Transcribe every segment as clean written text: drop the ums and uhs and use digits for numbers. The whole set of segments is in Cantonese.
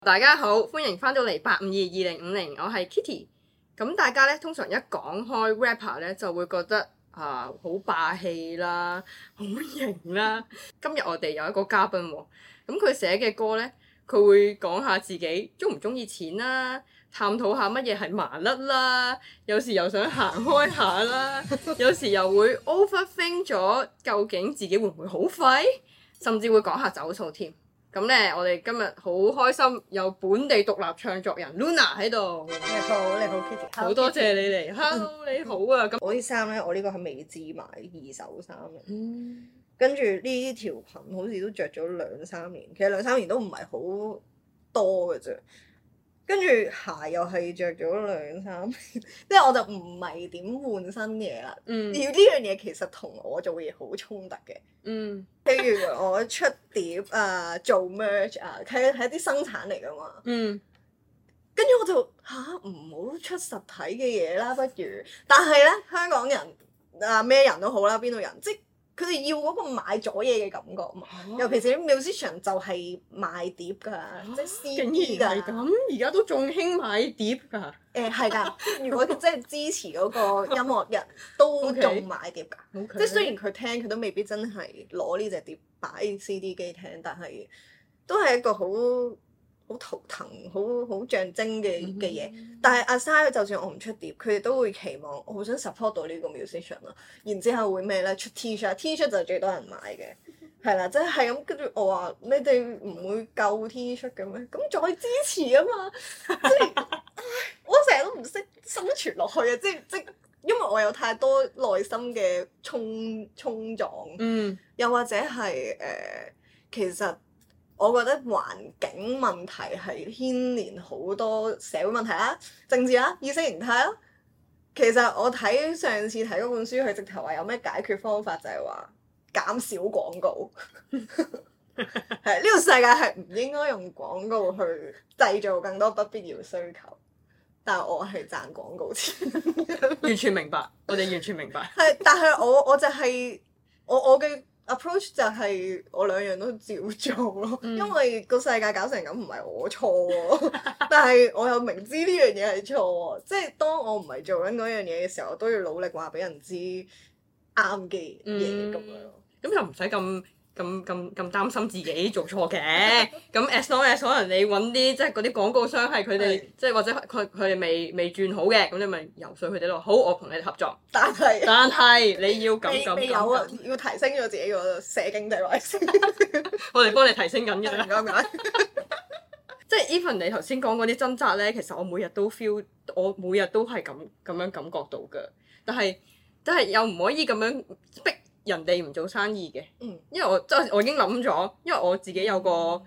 大家好，歡迎翻到嚟8522050，我係 Kitty。咁大家咧通常一講開 rapper 咧就會覺得好霸氣啦，好型啦。今日我哋有一個嘉賓喎，咁佢寫嘅歌咧，佢會講下自己鍾唔鍾意錢啦，探討下乜嘢係麻甩啦，有時又想行開下啦，有時又會 overthink 咗究竟自己會唔會好廢，甚至會講下走數添。咁咧，我哋今日好開心有本地獨立唱作人 Luna 喺度。 你好 Kitty。 好多謝你嚟。Hello，你好啊。咁我啲衫咧，我呢個係未置買二手衫嘅。跟住呢條裙好似都着咗2-3年，其實2-3年都唔係好多嘅啫。跟住鞋又係着咗2-3年，即係我就唔係點換新嘢啦。而呢樣嘢其實同我做嘅嘢好衝突嘅。譬如我出碟啊，做 merch 啊，係一啲生產嚟噶嘛。跟住我就唔好出實體嘅嘢啦，不如。但係咧，香港人啊咩人都好啦，邊度人，即係佢哋要嗰個買咗嘢嘅感覺嘛。尤其是啲 musician 就係賣碟㗎，即係 CD 㗎。 竟然係咁，而家都仲興買碟㗎。 係㗎，如果即係支持嗰個音樂人，都仲買碟㗎。即係雖然佢聽，佢都未必真係攞呢隻碟擺 CD 機聽，但係都係一個好圖騰、好象徵嘅嘢。但係 aside 就算我唔出碟，佢哋都會期望我好想 support 到呢個 musician 咯。然之後會咩咧？出 T-shirt 就係最多人買嘅，係啦，即係咁。跟住我話你哋唔會夠 T-shirt 嘅咩？咁再支持啊嘛！即係我成日都唔識生存落去啊！即因為我有太多內心嘅衝撞，又或者係其實。我覺得環境問題係牽連好多社會問題啦、政治啦、意識形態啦。其實我上次睇嗰本書，佢直頭話有咩解決方法，就係話減少廣告。係呢個世界係唔應該用廣告去製造更多不必要需求。但係我係賺廣告錢。 完全明白，我哋完全明白。 係，但係我就係我嘅。approach 就係我兩樣都照做咯，因為個世界搞成咁唔係我錯喎，但係我又明知呢樣嘢係錯喎，即係當我唔係做緊嗰樣嘢嘅時候，我都要努力話俾人知啱嘅嘢咁樣。 咁又唔使咁擔心自己做錯嘅。咁 as long as 可能你揾啲即係嗰啲廣告商係佢哋即係或者佢哋未轉好嘅，咁你咪游說佢哋咯。好，我同你哋合作。但係你要咁有啊，要提升咗自己個社經地位先。 我哋幫你提升緊嘅。 唔該。 即係 even 你頭先講嗰啲掙扎咧，其實我每日都 feel， 我每日都係咁樣感覺到㗎。但係又唔可以咁樣逼人哋唔做生意嘅，因為我已經諗咗，因為我自己有個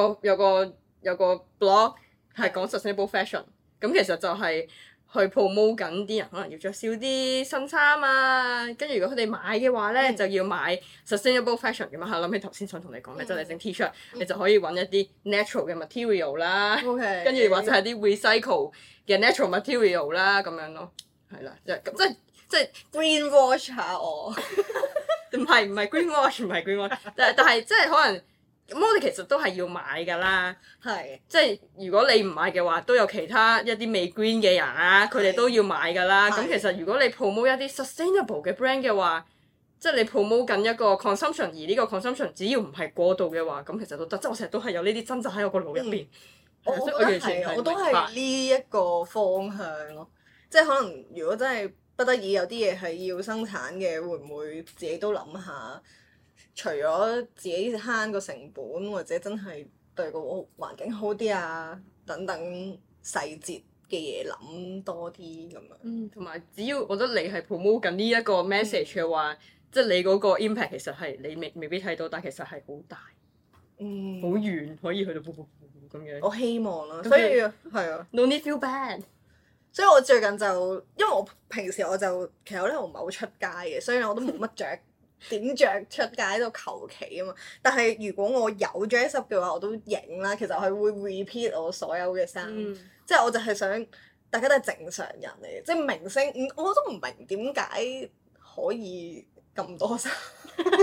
blog 係講 sustainable fashion，咁其實就係去 promote 緊啲人可能要着少啲新衫啊，跟住如果佢哋買嘅話咧，就要買 sustainable fashion 咁啊。諗起頭先想同你講嘅，即係你整 T-shirt，你就可以揾一啲 natural 嘅 material 啦，跟住或者係啲 recycle 嘅 natural material 啦咁樣咯，係啦，即係 greenwash 下我。 唔係 greenwash， 唔係 greenwash， 但係即係可能咁，我哋其實都係要買㗎啦。係，即係如果你唔買嘅話，都有其他一啲未 green 嘅人啊，佢哋都要買㗎啦。咁其實如果你 promote 一啲 sustainable 嘅 brand 嘅話，即係你 promote 緊一個 consumption， 而呢個 consumption 只要唔係過度嘅話，咁其實都得。即係我成日都係有呢啲掙扎喺我個腦入邊。 我都係呢一個方向咯。即係可能如果真係不得已有啲嘢係要生產嘅，會唔會自己都諗下？除咗自己慳個成本，或者真係對個環境好啲啊，等等細節嘅嘢諗多啲咁樣。同埋只要我覺得你係 promote 緊呢一個 message 嘅話，即係你嗰個 impact 其實係你未必睇到，但其實係好大，好遠可以去到咁樣。 我希望啦，所以係啊。 No need feel bad。 所以我最近就，因為我平時其實我唔係好出街嘅，所以我都冇乜點着出街喺度求其啊嘛。但係如果我有 dress up 嘅話，我都影啦。其實我係會 repeat 我所有嘅衫，即係我就係想大家都係正常人嚟嘅，即係明星，我都唔明點解可以咁多衫。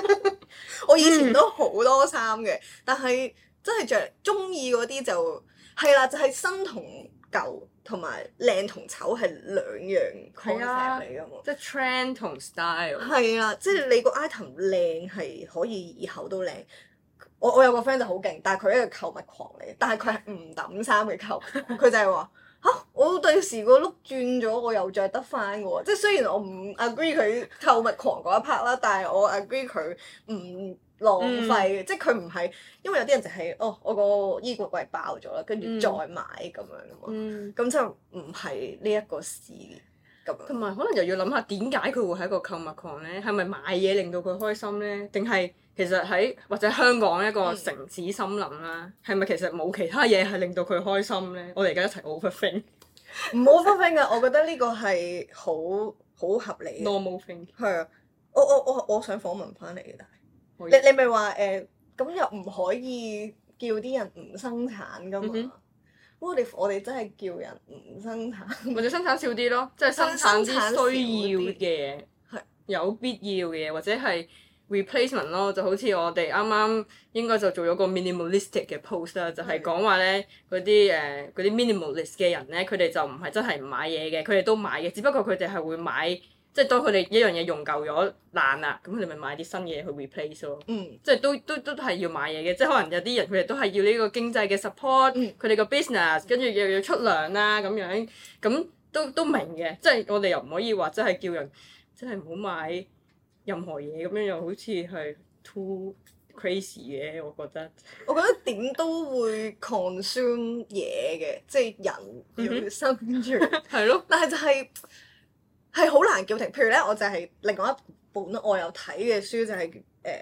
我以前都好多衫嘅，但係真係着中意嗰啲就係啦，就係新同舊同埋靚同醜係兩樣 concept 嚟㗎嘛。 即係 trend 同 style。 係啦，即係你個 item 靚係可以以後都靚。我有個 friend 就好勁，但係佢係一個購物狂嚟，但係佢係唔抌衫嘅購物狂，佢就係話嚇我第時個 look 轉咗，我又着得翻嘅喎。即係雖然我唔 agree 佢購物狂嗰一 part 啦，但係我 agree 佢唔浪費嘅，即係佢唔係因為有啲人就係我個衣櫃櫃爆咗啦，跟住再買咁樣啊嘛，咁就唔係呢一個事咁樣。 同埋可能又要諗下點解佢會係一個購物狂咧？係咪買嘢令到佢開心咧？定係其實喺或者香港一個城市森林啦，係咪其實冇其他嘢係令到佢開心咧？我哋而家一齊 overthink。 唔 overthink 㗎，我覺得呢個係好合理嘅。 normal thing。 係啊，我想訪問翻嚟嘅，但係你咪話咁又唔可以叫啲人唔生產㗎嘛？我哋真係叫人唔生產， 或者生產少啲咯，即係生產啲需要嘅嘢，有必要嘅嘢，或者係 replacement 咯，就好似我哋啱啱應該就做咗個 minimalistic 嘅 post 啦，就係講話咧嗰啲minimalist 嘅人咧，佢哋就唔係真係唔買嘢嘅，佢哋都買嘅，只不過佢哋係會買。即係當佢哋一樣嘢用舊咗爛啦，咁佢哋咪買啲新嘢去 replace 咯。即係都係要買嘢嘅，即係可能有啲人佢哋都係要呢個經濟嘅 support，佢哋個 business 跟住又要出糧啦咁樣，咁都明嘅。即係我哋又唔可以話真係叫人真係唔好買任何嘢咁樣，又好似係 too crazy 嘅，我覺得。 我覺得點都會 consume 嘢嘅，即係人要生存。 係咯。 但係就係好難叫停。譬如咧，我就係另外一本我有睇嘅書，就係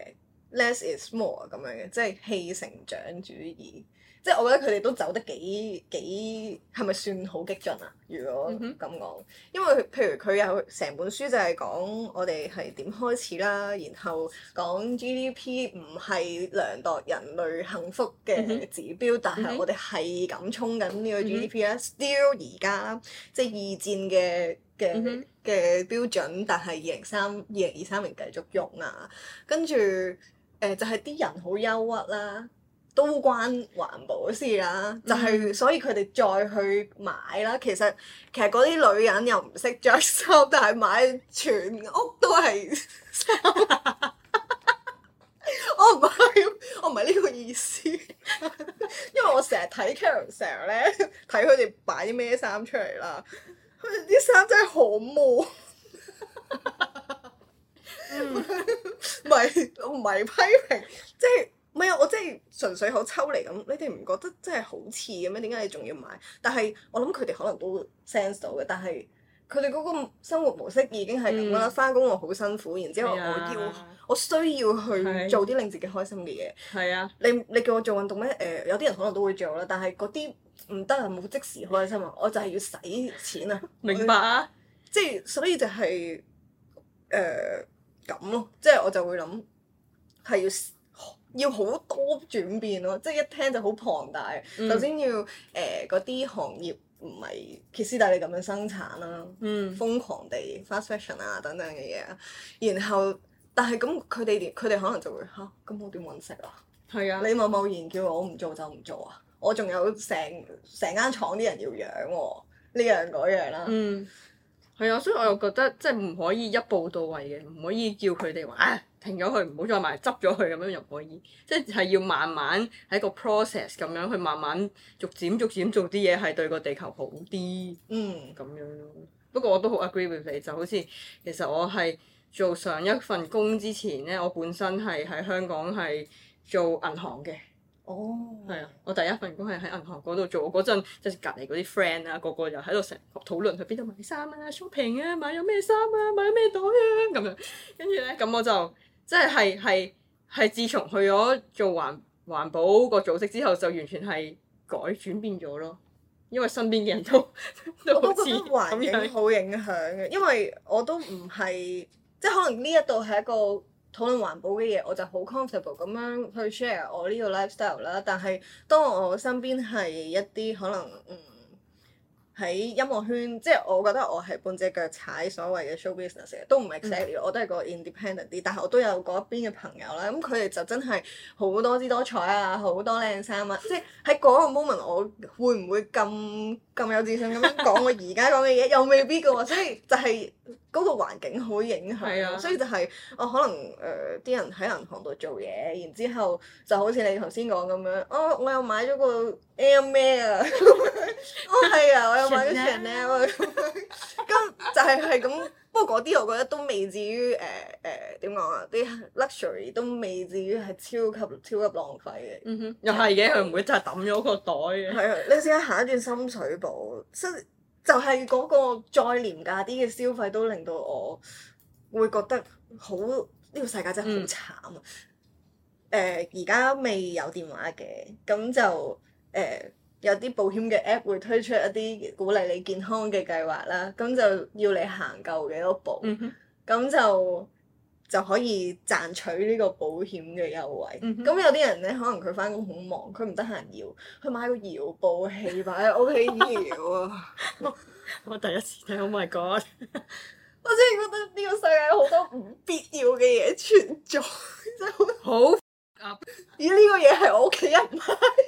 Less is more 咁樣嘅，即係棄成長主義。即係我覺得佢哋都走得幾係咪算好激進啊？如果咁講，因為譬如佢有成本書就係講我哋係點開始啦，然後講 GDP 唔係量度人類幸福嘅指標，但係我哋係咁衝緊呢個 GDP 啦，still 而家即係二戰嘅標準，但係2023年繼續用啊，跟住就係啲人好憂鬱啦。都關環保事啦，就係所以佢哋再去買啦。其實嗰啲女人又唔識着衫，但係買全屋都係衫。我唔係呢個意思，因為我成日睇 Carousell 咧，睇佢哋擺啲咩衫出嚟啦，佢哋啲衫真係好悶。唔係批評，即係。唔係啊！我真係純粹好抽離咁，你哋唔覺得真係好似嘅咩？點解你仲要買？但係我諗佢哋可能都 sense 到嘅，但係佢哋嗰個生活模式已經係咁啦。返工我好辛苦，然之後我需要去做啲令自己開心嘅嘢。係啊！你叫我做運動咩？有啲人可能都會做啦，但係嗰啲唔得啊！冇即時開心啊！我就係要使錢啊！ 明白啊！ 即係所以就係咁咯，即係我就會諗係要好多轉變咯，即係一聽就好龐大。首先要嗰啲行業唔係歇斯底里咁樣生產啦，瘋狂地 fast fashion 啊等等嘅嘢啊。然後但係咁佢哋可能就會嚇，咁我點揾食啊？係啊！你貿然叫我唔做就唔做啊？我仲有成間廠啲人要養喎，呢樣嗰樣啦。 係啊，所以我又覺得即係唔可以一步到位嘅，唔可以叫佢哋話停咗佢，唔好再買，執咗佢咁樣又唔可以，即係要慢慢喺個 process 咁樣去慢慢逐漸做啲嘢係對個地球好啲，咁樣咯。不過我都好 agree with 你，就好似其實我係做上一份工之前咧，我本身係喺香港係做銀行嘅。係啊！我第一份工係喺銀行嗰度做，嗰陣即係隔離嗰啲 friend 啊，個個又喺度成日討論去邊度買衫啊、shopping 啊、買咗咩衫啊、買咗咩袋啊咁樣。跟住咧，咁我就即係自從去咗做環保個組織之後，就完全係轉變咗咯。因為身邊嘅人都我都覺得環境好影響嘅，因為我都唔係即係可能呢一度係一個討論環保嘅嘢，我就好 comfortable 咁樣去 share 我呢個 lifestyle 啦。但係當我身邊係一啲可能係喺音樂圈，即係我覺得我係半隻腳踩所謂嘅 show business 嘅，都唔係 exactly，我都係個 independent 啲，但係我都有嗰一邊嘅朋友啦，咁佢哋就真係好多姿多彩啊，好多靚衫啊，即係喺嗰個 moment 我會唔會咁有自信咁樣講我而家講嘅嘢，又未必嘅喎，所以就係嗰個環境好影響，所以就係我可能啲人喺銀行度做嘢，然之後就好似你頭先講咁樣，我又買咗個 Air 咩啊，係啊，我又買咗 Chanel 啊，咁就係咁。不過嗰啲我覺得都未至於點講啊，啲 luxury 都未至於係超級浪費嘅。 又係嘅，佢唔會真係抌咗個袋嘅。 係啊，你試下行一轉深水埗，就係嗰個再廉價啲嘅消費都令到我會覺得好，呢個世界真係好慘啊！而家未有電話嘅，咁就有啲保險嘅 app 會推出一啲鼓勵你健康嘅計劃啦，咁就要你行夠幾多步，咁就可以賺取呢個保險嘅優惠。咁有啲人咧，可能佢翻工好忙，佢唔得閒搖，佢買個搖步器擺喺屋企搖啊！ 我第一次聽 ，Oh my god！ 我真係覺得呢個世界有好多唔必要嘅嘢存在，真係好。而呢個嘢係我屋企人買。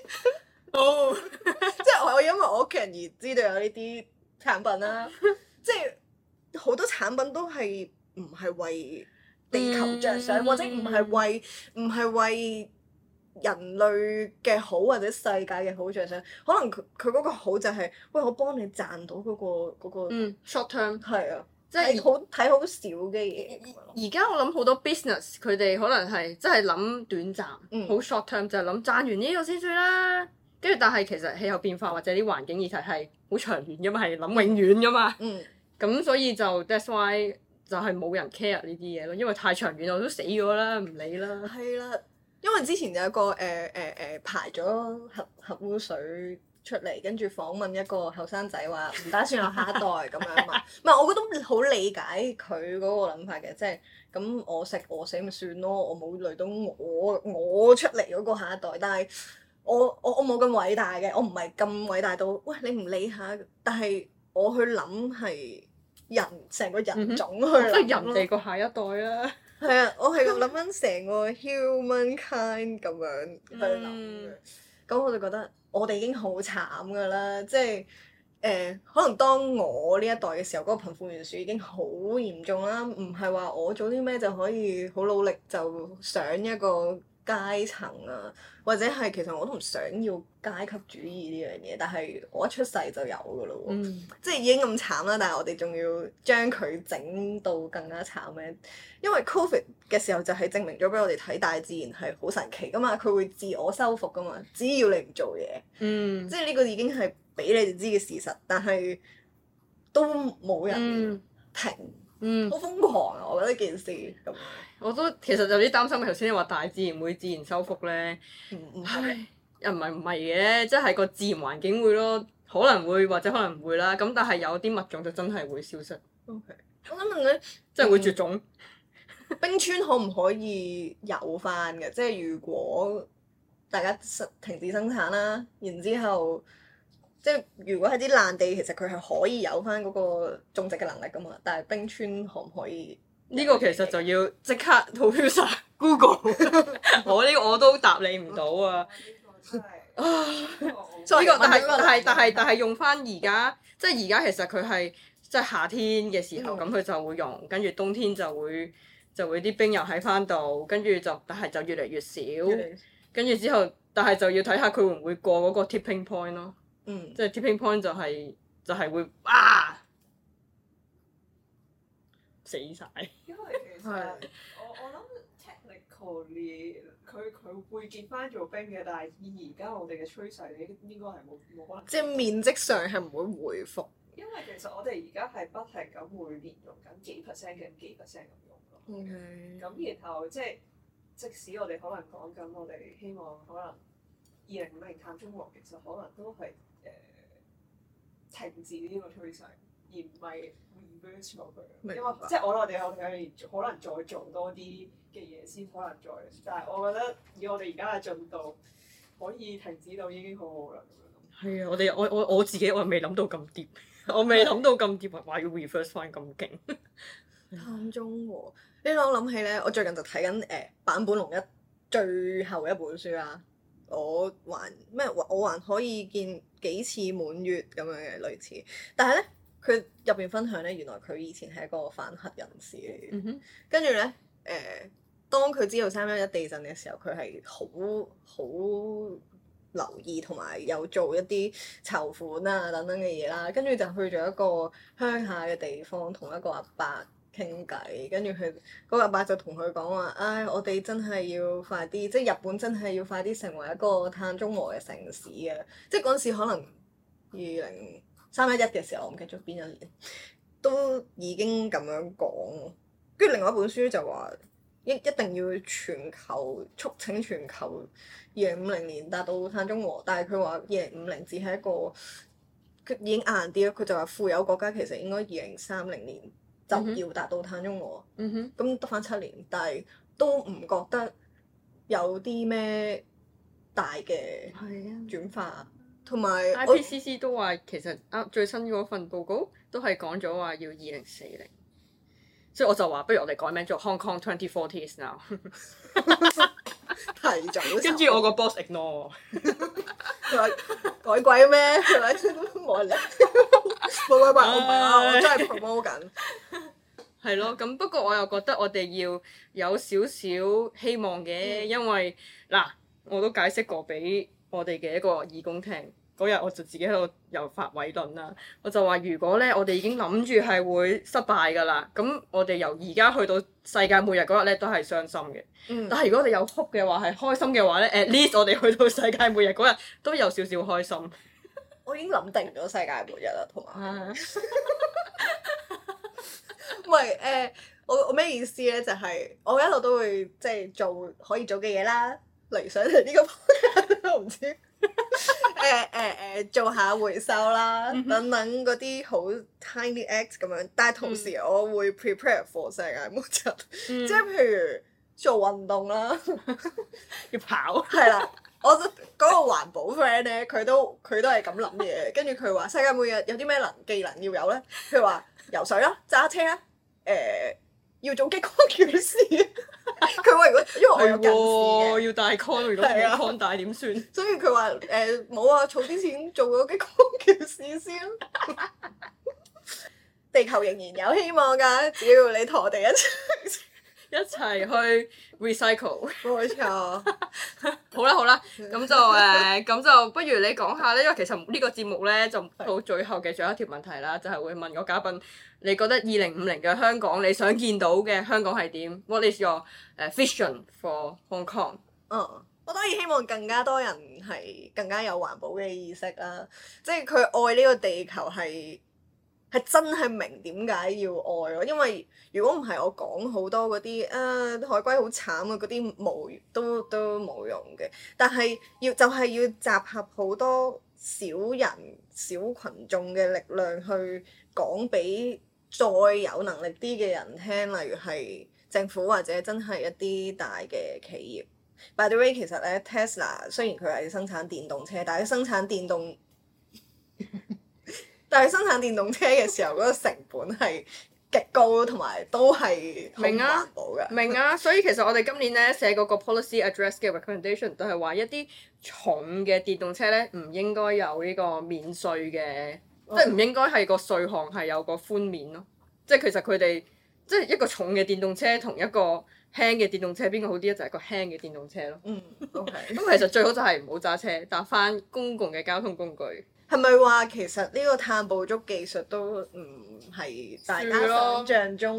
即係我因為我屋企人而知道有呢啲產品啦，即係好多產品都係唔係為地球着想，或者唔係為人類嘅好或者世界嘅好着想，可能佢嗰個好就係、喂，我幫你賺到嗰個 short term 係啊，即係睇好少嘅嘢。 而家我諗好多 business 佢哋可能係真係諗短暫，好 short term 就係諗賺完呢個先算啦。跟住但係其實氣候變化或者啲環境議題係好長遠㗎嘛，係諗永遠㗎嘛。咁所以就 that's why 就係冇人 care 呢啲嘢咯，因為太長遠我都死咗啦，唔理啦。係啦， 因為之前有一個排咗核污水出嚟，跟住訪問一個後生仔話唔打算有下一代咁樣嘛。唔係，我覺得好理解佢嗰個諗法嘅，即係咁我食餓死咪算咯，我冇累到我出嚟嗰個下一代，但係我冇咁偉大嘅，我唔係咁偉大到喂你唔理下，但係我去諗係人成個人種去諗， 即係人哋個下一代啦。 係啊，我係諗緊成個 humankind 咁樣去諗嘅，咁我就覺得我哋已經好慘噶啦，即係可能當我呢一代嘅時候，嗰個貧富懸殊已經好嚴重啦，唔係話我做啲咩就可以好努力就上一個階層啊，或者係其實我都唔想要階級主義呢樣嘢，但係我一出世就有噶咯喎，即係已經咁慘啦，但係我哋仲要將佢整到更加慘咧，因為 Covid 嘅時候就係證明咗俾我哋睇大自然係好神奇噶嘛，佢會自我修復噶嘛，只要你唔做嘢，即係呢個已經係俾你哋知嘅事實，但係都冇人停，好瘋狂啊！我覺得件事咁。 我都其實有啲擔心，頭先你話大自然會自然修復咧，又唔係嘅，即係個自然環境會咯，可能會或者可能唔會啦。咁但係有啲物種就真係會消失。 Okay. 我想問你， 即係會絕種。 冰川可唔可以有翻嘅？即係如果大家停止生產啦，然之後即係如果係啲爛地，其實佢係可以有翻嗰個種植嘅能力噶嘛。但係冰川可唔可以？ 呢個其實就要即刻投票晒 Google， 我呢個我都答你唔到啊！呢個但係用翻而家，即係而家其實佢係即係夏天嘅時候，咁佢就會溶，跟住冬天就會啲冰又喺翻度，跟住但係就越嚟越少，跟住之後，但係就要睇下佢會唔會過嗰個 tipping point 咯。即係 tipping point 就係會死晒。 因為其實我諗 technically 佢會見翻做冰嘅，但係以而家我哋嘅趨勢，應該係冇可能。 即係面積上係唔會回復。 因為其實我哋而家係不停咁每年用緊幾 percent 嘅幾 percent 咁用咯。咁然後即使我哋可能講緊我哋希望可能2050碳中和，其實可能都係停止呢個趨勢，而唔係 reverse 落去。因為即係我哋可能再做多啲嘅嘢先，可能再。但係我覺得以我哋而家嘅進度，可以停止到已經好好啦。咁樣。 係啊，我自己我未諗到咁 deep，我未諗到咁 deep 話要 reverse 翻咁勁。 碳中和，呢個我諗起咧，我最近就睇緊坂本龍一最後一本書啦。我還可以見幾次滿月咁樣嘅類似，但係咧佢入邊分享咧，原來佢以前係一個反核人士嚟嘅。跟住咧當佢知道311地震嘅時候，佢係好留意同埋有做一啲籌款啊等等嘅嘢啦。跟住就去咗一個鄉下嘅地方，同一個阿伯傾偈，跟住佢嗰個阿伯就同佢講話，唉，我哋真係要快啲，即係日本真係要快啲成為一個碳中和嘅城市啊！即係嗰陣時可能2031嘅時候，我唔記得咗邊一年，都已經咁樣講。跟住另外一本書就話一定要促請全球2050年達到碳中和，但係佢話2050只係一個佢已經硬啲咯。佢就話富有國家其實應該2030年就要達到碳中和，咁得翻7年，但係都唔覺得有啲咩大嘅轉化，同埋 IPCC 都話其實最新嗰份報告都係講咗話要2040，所以我就話不如我哋改名做 Hong Kong 2040 is now。 提早， 跟住我個 boss ignore 我， 佢話改鬼咩？係咪冇人理？冇鬼怪，我唔係啊！我真係 promote 緊。 係咯，咁不過我又覺得我哋要有少少希望嘅，因為嗱，我都解釋過俾我哋嘅一個義工聽。嗰日我就自己喺度又發偉論啦，我就話如果咧我哋已經諗住係會失敗㗎啦，咁我哋由而家去到世界末日嗰日咧都係傷心嘅。但係如果我哋有 hope 嘅話係開心嘅話咧，at least 我哋去到世界末日嗰日都有少少開心。 我已經諗定咗世界末日啦，同埋唔係我咩意思咧？就係、我一路都會即係做可以做嘅嘢啦，例如上嚟呢個 podcast 我唔知。做下回收啦，等等嗰啲好 tiny acts 咁樣，但係同時我會 prepare for 世界末日，即係譬如做運動啦， 要跑。 係啦，我嗰個環保 friend 咧，佢都係咁諗嘢，跟住佢話世界末日有啲咩技能要有咧？譬如話游水啦、揸車啦，要做激光矯視。佢話如果因為我有近視嘅， 要戴 con， 如果冇 con 戴點算？ 所以佢話冇啊，儲啲錢做咗激光矯視先。地球仍然有希望㗎，只要你同我哋一齊去 recycle。 冇錯。 好啦，咁就不如你講下咧，因為其實呢個節目咧就到最後嘅最後一條問題啦，就係會問個嘉賓，你覺得2050嘅香港你想見到嘅香港係點？What is your vision for Hong Kong？ 我當然希望更加多人係更加有環保嘅意識啦，即係佢愛呢個地球係真係明點解要愛咯，因為如果唔係我講好多嗰啲海龜好慘啊嗰啲都冇用嘅，但係要集合好多小人小群眾嘅力量去講俾再有能力啲嘅人聽，例如係政府或者真係一啲大嘅企業。By the way， 其實咧 Tesla 雖然佢係生產電動車，但係生產電動車嘅時候嗰個成本係極高，同埋都係好唔環保嘅。 明啊，所以其實我哋今年咧寫嗰個 policy address 嘅 recommendation 都係話一啲重嘅電動車咧唔應該有呢個免稅嘅，即係唔應該係個稅項係有個寬免咯。即係其實佢哋即係一個重嘅電動車同一個輕嘅電動車邊個好啲咧？就係個輕嘅電動車咯。 OK。 咁其實最好就係唔好揸車，搭翻公共嘅交通工具。 係咪話其實呢個碳捕捉技術都唔係大家想像中？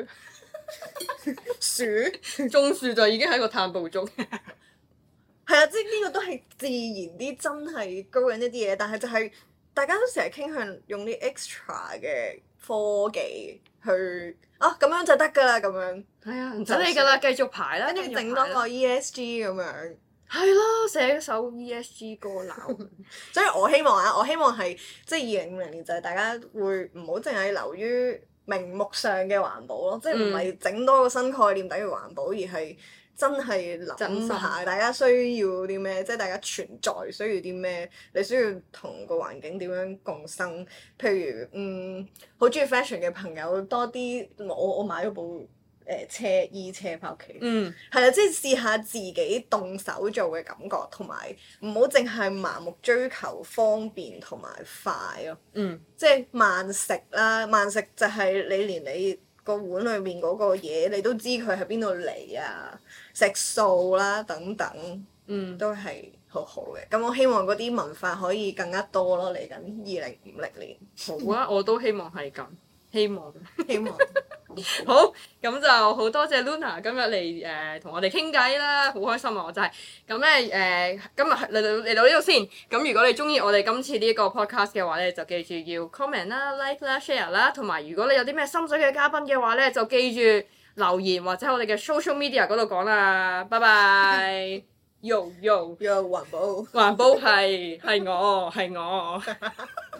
種樹就已經係一個碳捕捉。 係啊，即係呢個都係自然啲，真係高緊一啲嘢，但係就係大家都成日傾向用啲 extra 嘅科技去咁樣就得㗎啦，咁樣。 係啊，唔使理㗎啦，繼續排啦， 跟住整多個 ESG 咁樣。 係咯，寫首 ESG 歌鬧。 所以我希望係即係2050年就係大家會唔好淨係流於名目上嘅環保咯，即係唔係整多個新概念等於環保，而係真係諗下大家需要啲咩，即係大家存在需要啲咩，你需要同個環境點樣共生。譬如好中意 fashion 嘅朋友多啲，我買咗部衣車翻屋企，係啦，即係試下自己動手做嘅感覺，同埋唔好淨係盲目追求方便同埋快咯。即係慢食啦，慢食就係你連你個碗裏面嗰個嘢你都知佢喺邊度嚟啊，食素啦等等，都係好好嘅。咁我希望嗰啲文化可以更加多咯，嚟緊2050年。 好啊，我都希望係咁，希望。 好， 咁就好多謝 Luna 今日嚟同我哋傾偈啦，好開心啊！我真係咁咧今日嚟到呢度先。咁如果你中意我哋今次呢個 podcast 嘅話咧，就記住要 comment 啦、like 啦、share 啦，同埋如果你有啲咩心水嘅嘉賓嘅話咧，就記住留言或者喺我哋嘅 social media 嗰度講啦。拜拜。Yo yo， 環保環保係我。